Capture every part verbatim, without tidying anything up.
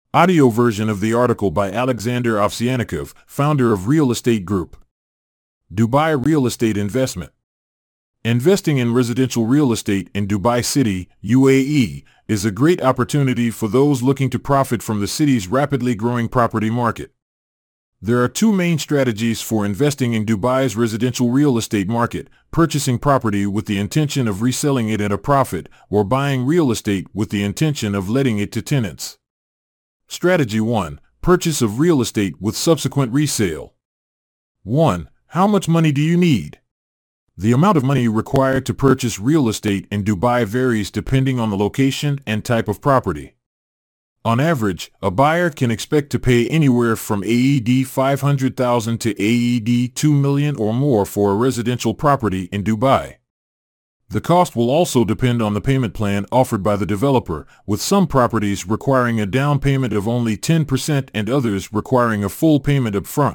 Audio version of the article by Alexander Ovsyannikov, founder of Real Estate Group. Dubai Real Estate Investment. Investing in residential real estate in Dubai City, U A E, is a great opportunity for those looking to profit from the city's rapidly growing property market. There are two main strategies for investing in Dubai's residential real estate market: purchasing property with the intention of reselling it at a profit, or buying real estate with the intention of letting it to tenants. Strategy one. Purchase of real estate with subsequent resale. one. How much money do you need? The amount of money required to purchase real estate in Dubai varies depending on the location and type of property. On average, a buyer can expect to pay anywhere from A E D five hundred thousand to A E D two million or more for a residential property in Dubai. The cost will also depend on the payment plan offered by the developer, with some properties requiring a down payment of only ten percent and others requiring a full payment up front.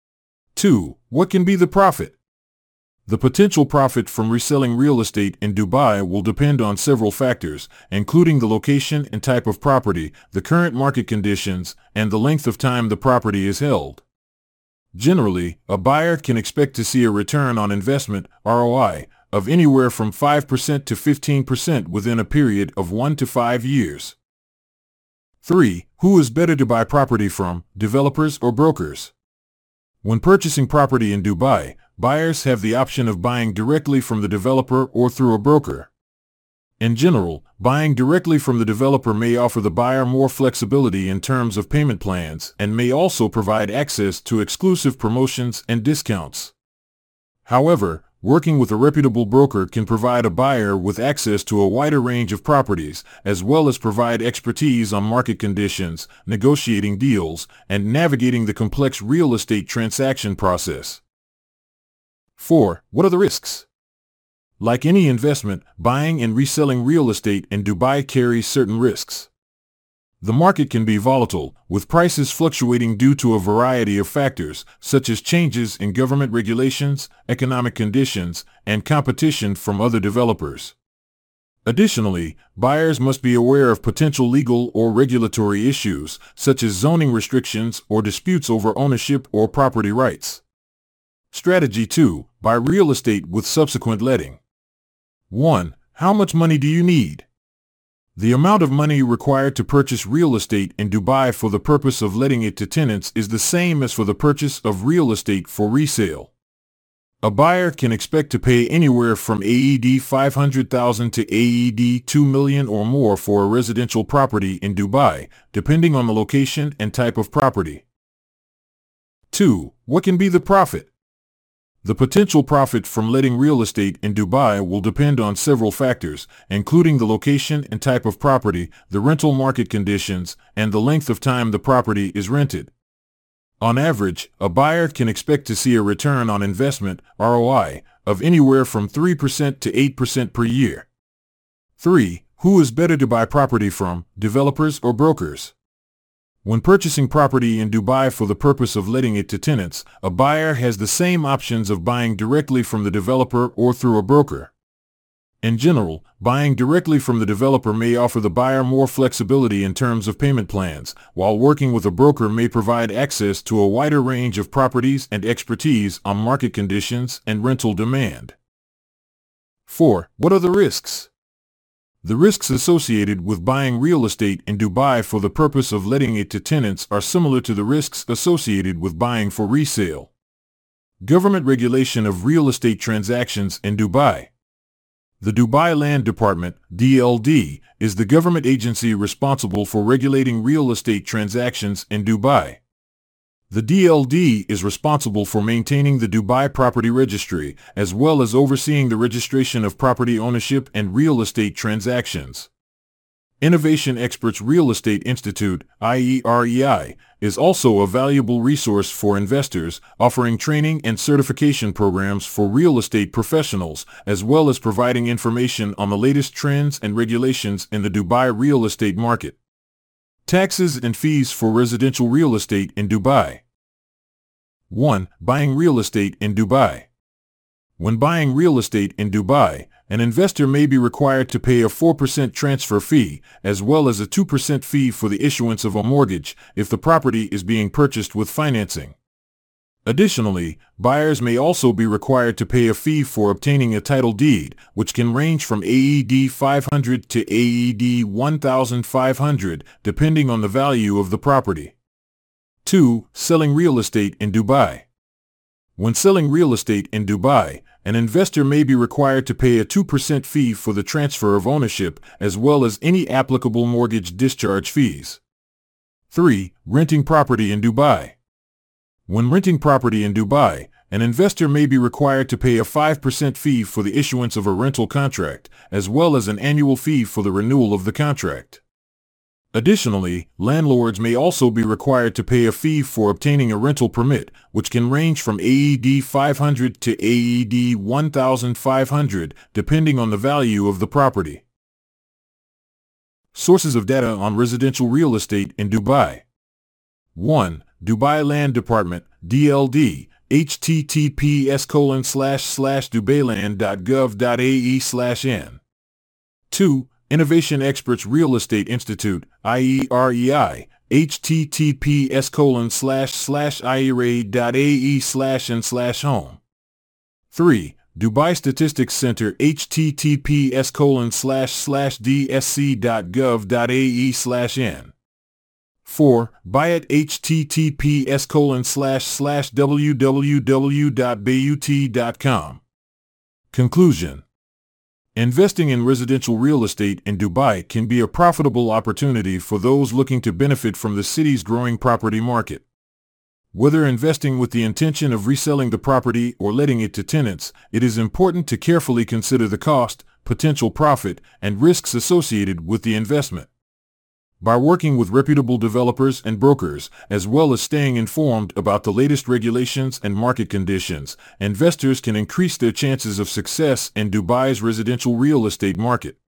two. What can be the profit? The potential profit from reselling real estate in Dubai will depend on several factors, including the location and type of property, the current market conditions, and the length of time the property is held. Generally, a buyer can expect to see a return on investment, R O I, of anywhere from five percent to fifteen percent within a period of one to five years. three. Who is better to buy property from, developers or brokers? When purchasing property in Dubai, buyers have the option of buying directly from the developer or through a broker. In general, buying directly from the developer may offer the buyer more flexibility in terms of payment plans and may also provide access to exclusive promotions and discounts. However, working with a reputable broker can provide a buyer with access to a wider range of properties, as well as provide expertise on market conditions, negotiating deals, and navigating the complex real estate transaction process. four. What are the risks? Like any investment, buying and reselling real estate in Dubai carries certain risks. The market can be volatile, with prices fluctuating due to a variety of factors, such as changes in government regulations, economic conditions, and competition from other developers. Additionally, buyers must be aware of potential legal or regulatory issues, such as zoning restrictions or disputes over ownership or property rights. Strategy two. Buy real estate with subsequent letting. one. How much money do you need? The amount of money required to purchase real estate in Dubai for the purpose of letting it to tenants is the same as for the purchase of real estate for resale. A buyer can expect to pay anywhere from A E D five hundred thousand to A E D two million or more for a residential property in Dubai, depending on the location and type of property. two. What can be the profit? The potential profit from letting real estate in Dubai will depend on several factors, including the location and type of property, the rental market conditions, and the length of time the property is rented. On average, a buyer can expect to see a return on investment, R O I, of anywhere from three percent to eight percent per year. three. Who is better to buy property from, developers or brokers? When purchasing property in Dubai for the purpose of letting it to tenants, a buyer has the same options of buying directly from the developer or through a broker. In general, buying directly from the developer may offer the buyer more flexibility in terms of payment plans, while working with a broker may provide access to a wider range of properties and expertise on market conditions and rental demand. four. What are the risks? The risks associated with buying real estate in Dubai for the purpose of letting it to tenants are similar to the risks associated with buying for resale. Government regulation of real estate transactions in Dubai. The Dubai Land Department, D L D, is the government agency responsible for regulating real estate transactions in Dubai. The D L D is responsible for maintaining the Dubai Property Registry, as well as overseeing the registration of property ownership and real estate transactions. Innovation Experts Real Estate Institute, I E R E I, is also a valuable resource for investors, offering training and certification programs for real estate professionals, as well as providing information on the latest trends and regulations in the Dubai real estate market. Taxes and fees for residential real estate in Dubai. one. Buying real estate in Dubai. When buying real estate in Dubai, an investor may be required to pay a four percent transfer fee, as well as a two percent fee for the issuance of a mortgage if the property is being purchased with financing. Additionally, buyers may also be required to pay a fee for obtaining a title deed, which can range from A E D five hundred to A E D one thousand five hundred, depending on the value of the property. two. Selling real estate in Dubai. When selling real estate in Dubai, an investor may be required to pay a two percent fee for the transfer of ownership, as well as any applicable mortgage discharge fees. three. Renting property in Dubai. When renting property in Dubai, an investor may be required to pay a five percent fee for the issuance of a rental contract, as well as an annual fee for the renewal of the contract. Additionally, landlords may also be required to pay a fee for obtaining a rental permit, which can range from A E D five hundred to A E D one thousand five hundred, depending on the value of the property. Sources of data on residential real estate in Dubai. one. Dubai Land Department, D L D, H T T P S colon slash slash dubailand dot gov dot A E slash N. two. Innovation Experts Real Estate Institute, I E R E I, H T T P S colon slash slash I E R A dot A E slash N slash home. three. Dubai Statistics Center, H T T P S colon slash slash D S C dot gov dot A E slash N. four. Bayut, H T T P S colon slash slash W W W dot bayut dot com. Conclusion. Investing in residential real estate in Dubai can be a profitable opportunity for those looking to benefit from the city's growing property market. Whether investing with the intention of reselling the property or letting it to tenants, it is important to carefully consider the cost, potential profit, and risks associated with the investment. By working with reputable developers and brokers, as well as staying informed about the latest regulations and market conditions, investors can increase their chances of success in Dubai's residential real estate market.